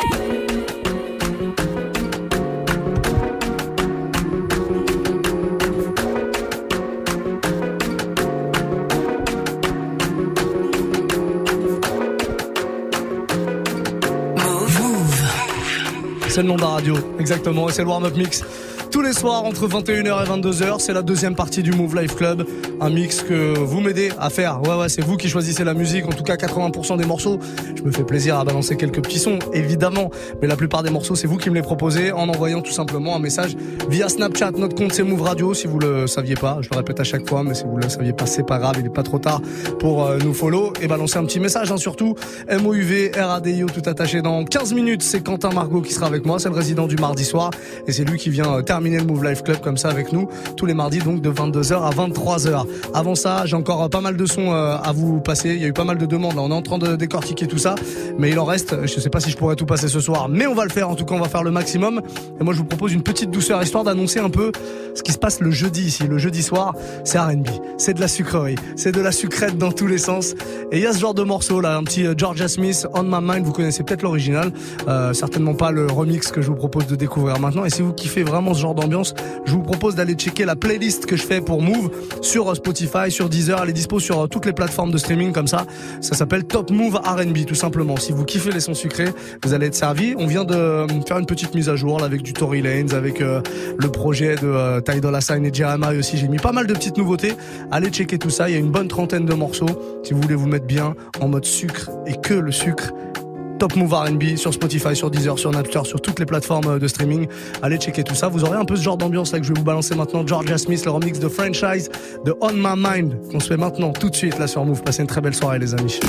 C'est le nom de la radio, exactement, et c'est le warm-up mix. Tous les soirs entre 21h et 22h, c'est la deuxième partie du Move Life Club. Un mix que vous m'aidez à faire. Ouais, c'est vous qui choisissez la musique. En tout cas, 80% des morceaux. Je me fais plaisir à balancer quelques petits sons, évidemment. Mais la plupart des morceaux, c'est vous qui me les proposez en envoyant tout simplement un message via Snapchat. Notre compte, c'est Move Radio, si vous le saviez pas. Je le répète à chaque fois, mais si vous le saviez pas, c'est pas grave. Il est pas trop tard pour nous follow et balancer un petit message, surtout. MOUV, RADIO, tout attaché dans 15 minutes. C'est Quentin Margot qui sera avec moi. C'est le résident du mardi soir. Et c'est lui qui vient terminer le Move Life Club comme ça avec nous. Tous les mardis, donc, de 22h à 23h. Avant ça, j'ai encore pas mal de sons à vous passer. Il y a eu pas mal de demandes. Là, on est en train de décortiquer tout ça. Mais il en reste. Je sais pas si je pourrais tout passer ce soir. Mais on va le faire. En tout cas, on va faire le maximum. Et moi, je vous propose une petite douceur, histoire d'annoncer un peu ce qui se passe le jeudi ici. Le jeudi soir, c'est R&B. C'est de la sucrerie. C'est de la sucrète dans tous les sens. Et il y a ce genre de morceau là. Un petit Georgia Smith, On My Mind. Vous connaissez peut-être l'original. Certainement pas le remix que je vous propose de découvrir maintenant. Et si vous kiffez vraiment ce genre d'ambiance, je vous propose d'aller checker la playlist que je fais pour Move sur Spotify, sur Deezer. Elle est dispo sur toutes les plateformes de streaming comme ça. Ça s'appelle Top Move R&B tout simplement. Si vous kiffez les sons sucrés, vous allez être servi. On vient de faire une petite mise à jour là, avec du Tory Lanez, avec le projet de Ty Dolla $ign et Jeremiah aussi. J'ai mis pas mal de petites nouveautés. Allez checker tout ça. Il y a une bonne trentaine de morceaux. Si vous voulez vous mettre bien en mode sucre et que le sucre. Top Move R&B sur Spotify, sur Deezer, sur Napster, sur toutes les plateformes de streaming. Allez checker tout ça. Vous aurez un peu ce genre d'ambiance là que je vais vous balancer maintenant. Georgia Smith, le remix de Franchise de On My Mind qu'on se fait maintenant tout de suite là sur Move. Passez une très belle soirée les amis.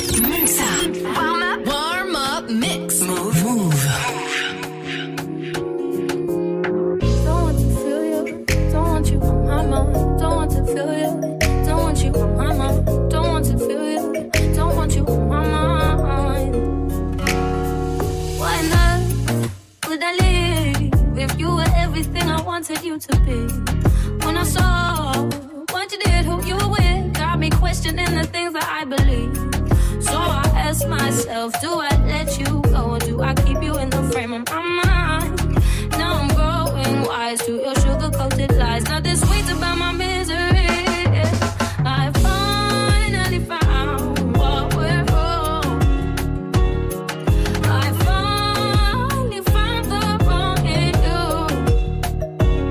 Warm up mix. Move. Don't want to feel you. Don't want you on my mind. Don't want to feel you. Don't want you on my mind. Don't want to feel you. Don't want you on my mind. Why not? Would I leave if you were everything I wanted you to be? When I saw what you did, who you were with, got me questioning the things that I believe. So I ask myself, do I let you go or do I keep you in the frame of my mind? Now I'm growing wise to your sugar-coated lies. Nothing sweet about my misery. I finally found what went wrong. I finally found the wrong in you.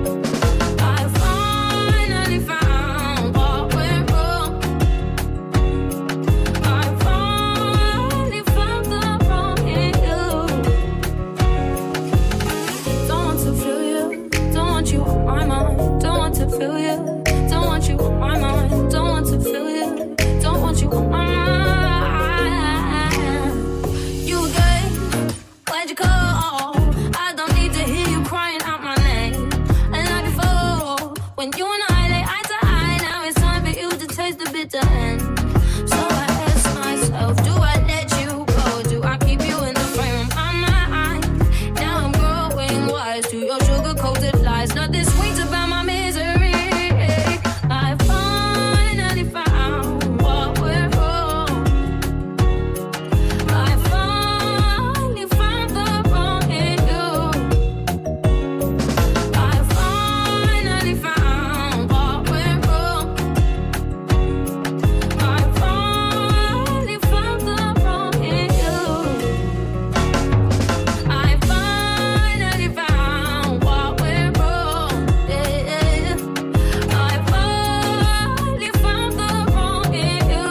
when you and I lay eye to eye. Now it's time for you to taste the bitter end. So I ask myself, do I let you go? Do I keep you in the frame of my mind? Now I'm growing wise to your sugar-coated lies. Nothing sweet about my misery. I finally found what went wrong. I finally found the wrong in you. I finally found what went wrong. I finally found the wrong in you. I finally found what went wrong. Yeah. I finally found the wrong in you.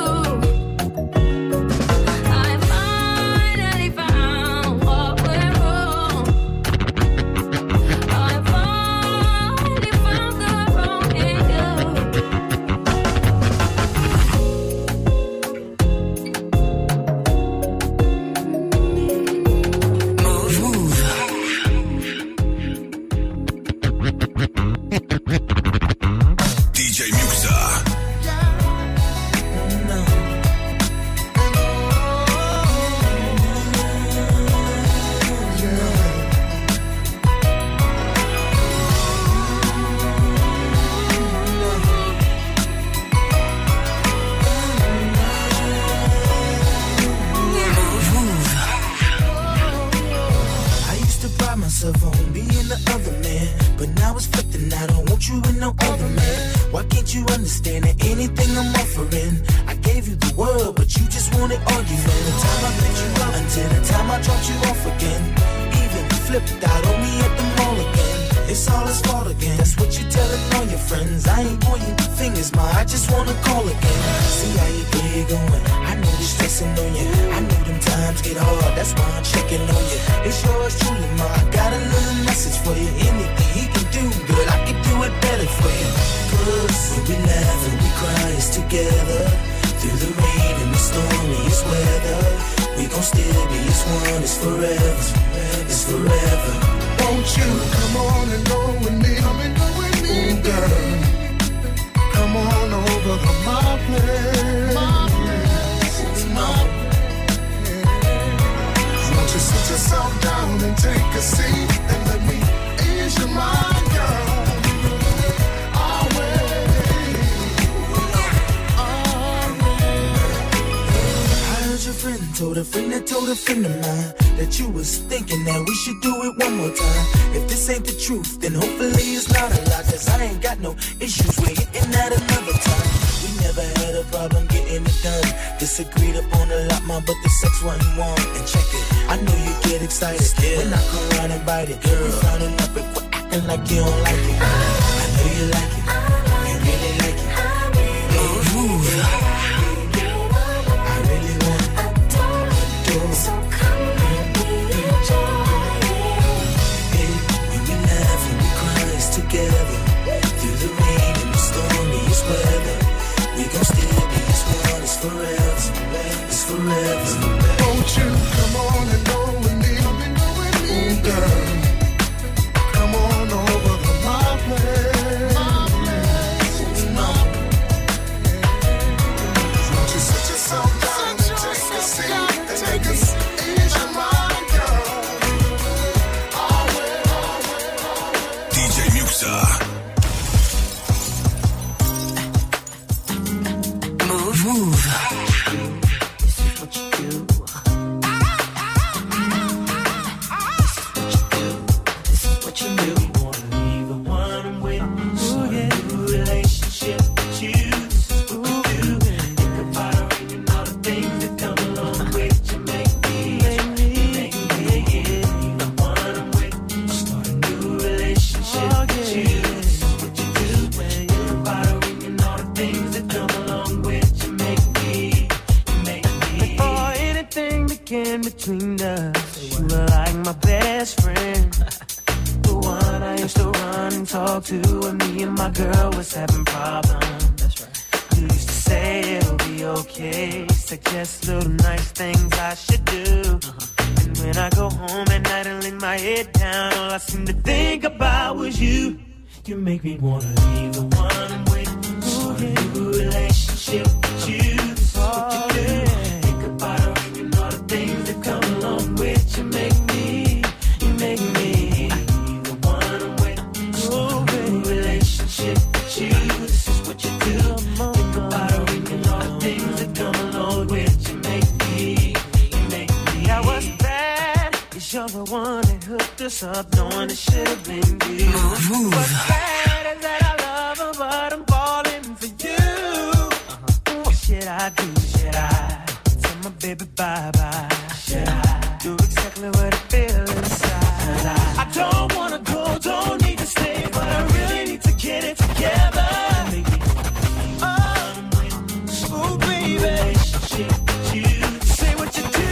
I finally found what went wrong. I finally found the wrong in you. DJ Muxa. I used to pride myself on being the other man, but now it's flipped and I don't want you with no other man. Why can't you understand that anything I'm offering? I gave you the world, but you just wanted argument. The time I picked you up until the time I dropped you off again. Even flipped out on me at the mall again. It's all his fault again. That's what you telling all your friends. I ain't pointing fingers, ma. I just wanna call again. See how you play going. I know you're stressing on you. I know them times get hard. That's why I'm checking on you. It's yours truly, ma. I got a little message for you. Anything he can do, good, I can do it better for you. 'Cause when we laugh and we cry, it's together. Through the rain and the stormiest weather, we gon' still be as one. It's forever. It's forever. Won't you come on and go with me? Ooh, girl, come on over to my place. Won't you sit yourself down and take a seat and let me ease your mind, girl? I'll wait. I heard your friend told a friend that told a friend of mine that you was thinking that we should do it one more time. If this ain't the truth, then hopefully it's not a lie. 'Cause I ain't got no issues with getting that another time. We never had a problem getting it done. Disagreed upon a lot, ma, but the sex wasn't warm. And check it, I know you get excited when I come around and bite it. Girl, frowning up and quit acting like you don't like it. I know you like it, you really like it. Move. I really want it. So come let me enjoy it. When we laugh and we cry, it's together. Through the rain and the stormiest weather, we gon' still be as one. It's forever. It's forever. Won't you come on and go with me? Ooh, girl, come on over to my place. Won't you sit yourself down and take a seat and make us ease your mind, girl? I'll wait. DJ Muxa. Move. Between us, you were like my best friend, the one I used to run and talk to when me and my girl was having problems. That's right. You used to say it'll be okay, suggest little nice things I should do. And when I go home at night and lay my head down, all I seem to think about was you. You make me wanna leave the one I'm with. Start a new relationship with you. This is what you do. Think about her and all the things that come along with you. Make me leave the one I'm with. Start a new relationship with you. This is what you do. Think about her and all the things that come along with you. Make me. Now what's bad is you're the one that hooked us up, knowing it should have been you. What's bad is that I love her, but I'm falling for you. What should I do? Should I tell my baby bye-bye? Should I do exactly what I feel inside? I don't wanna go, don't need to stay, but I really need to get it together. Oh, baby, say what you do.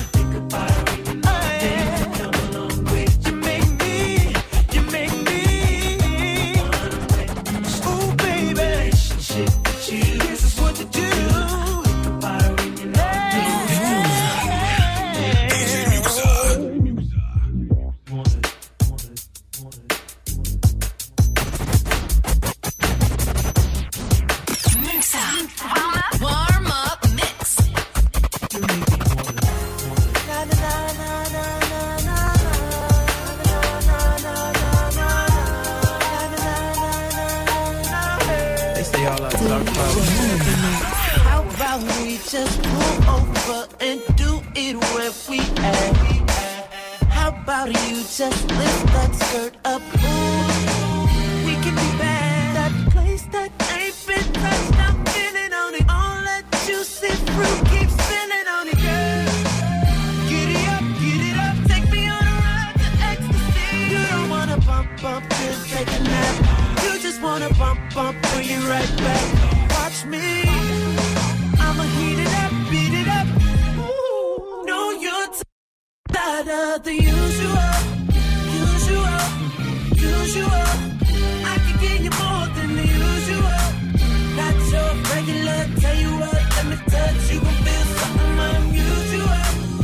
How about we just pull over and do it where we at? How about you just lift that skirt up? Ooh, we can be bad. That place that ain't been touched, I'm feeling on it. All that juicy fruit keeps spilling on it, girl. Get it up, take me on a ride to ecstasy. You don't wanna bump, just take a nap. You just wanna bump, bring it right back. Watch me, I'ma heat it up, beat it up. Ooh, know you're tired of the usual. I can give you more than the usual. Not your regular, tell you what, let me touch you and feel something unusual.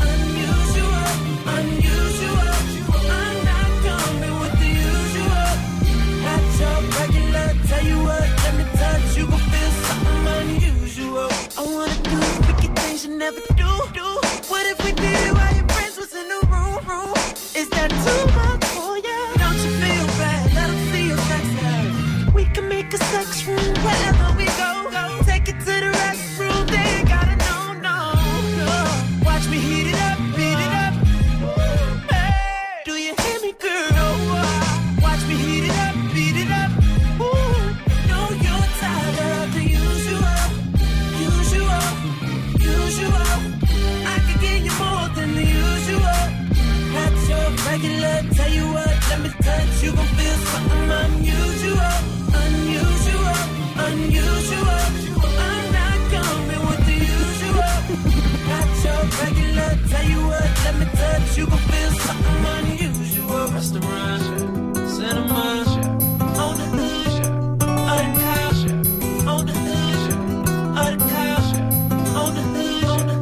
I'm not coming with the usual. Not your regular, tell you what, let me touch you and feel something unusual. I wanna do freaky things you never do. What if we did it while your friends was in the room? Is that too much for you? Don't you feel bad? Let them see your sex life. We can make a sex room wherever we go. Take it to the restroom, they ain't gotta know, no. Watch me heat it up, beat it up. Hey, do you hear me, girl? Watch me heat it up, beat it up. Know you're tired of the usual. I can give you more than the usual. Not your regular, tell you what, let me touch you, gon' feel something unusual. I'm not coming with the usual. Not your regular, tell you what, let me touch you, gon' feel something unusual. Restaurant, cinema, on the hood, on the couch, on the hood, on the couch, on the hood.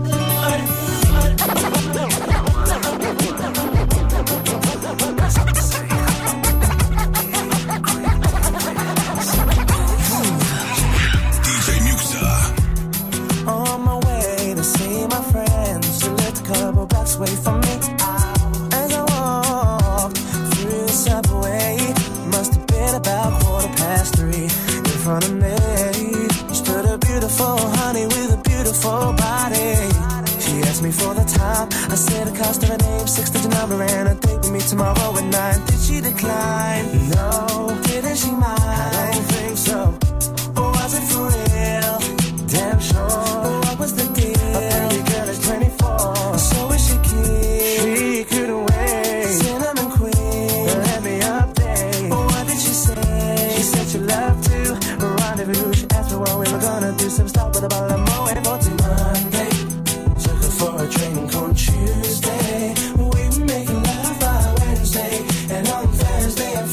DJ Muxa. On my way to see my friends, she lived a couple blocks away from me. As I walked through the subway, must have been about 3:15. In front of me stood a beautiful honey with a beautiful body. She asked me for the time. I said the cost of her name, 6-digit number, and a date with me tomorrow at 9. Did she decline? No. Didn't she mind? I don't think so. Or was it for real? Damn sure. What was the deal? A pretty girl is 24. So is she cute? She couldn't wait. Cinnamon queen, let me update. What did she say? She said she loved to rendezvous. She asked me what we were gonna do. Some stop with a bottle of Moët for Monday. Took her for a drink on Tuesday. We were making love by Wednesday. And on Thursday I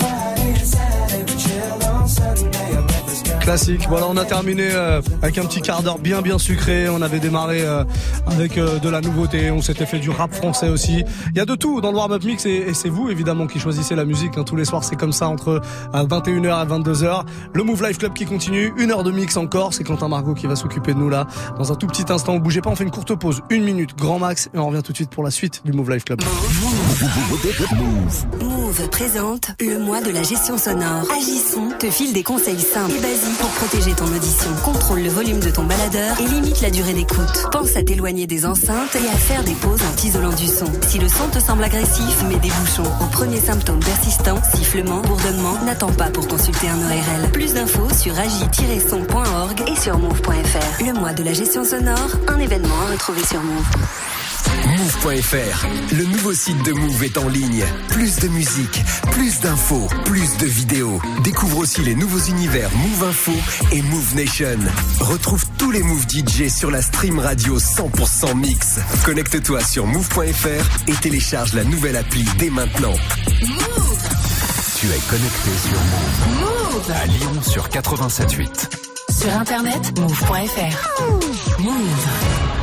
Classique. Voilà, on a terminé avec un petit quart d'heure bien sucré. On avait démarré avec de la nouveauté. On s'était fait du rap français aussi. Il y a de tout dans le warm-up mix et c'est vous évidemment qui choisissez la musique. Tous les soirs c'est comme ça entre 21h et 22h. Le Move Life Club qui continue. 1 heure de mix encore. C'est Quentin Margot qui va s'occuper de nous là. Dans un tout petit instant, bougez pas. On fait une courte pause, 1 minute grand max et on revient tout de suite pour la suite du Move Life Club. Move présente le mois de la gestion sonore. Agisson te file des conseils simples et basiques pour protéger ton audition. Contrôle le volume de ton baladeur et limite la durée d'écoute. Pense à t'éloigner des enceintes et à faire des pauses en t'isolant du son. Si le son te semble agressif, mets des bouchons. Au premier symptôme persistant, sifflement, bourdonnement, n'attends pas pour consulter un ORL. Plus d'infos sur agi-son.org et sur move.fr. Le mois de la gestion sonore, un événement à retrouver sur Move. Move.fr, le nouveau site de Move est en ligne. Plus de musique, plus d'infos, plus de vidéos. Découvre aussi les nouveaux univers Move Info et Move Nation. Retrouve tous les Move DJ sur la stream radio 100% mix. Connecte-toi sur Move.fr et télécharge la nouvelle appli dès maintenant. Move. Tu es connecté sur Move. Move. À Lyon sur 87.8. Sur internet, move.fr. Move.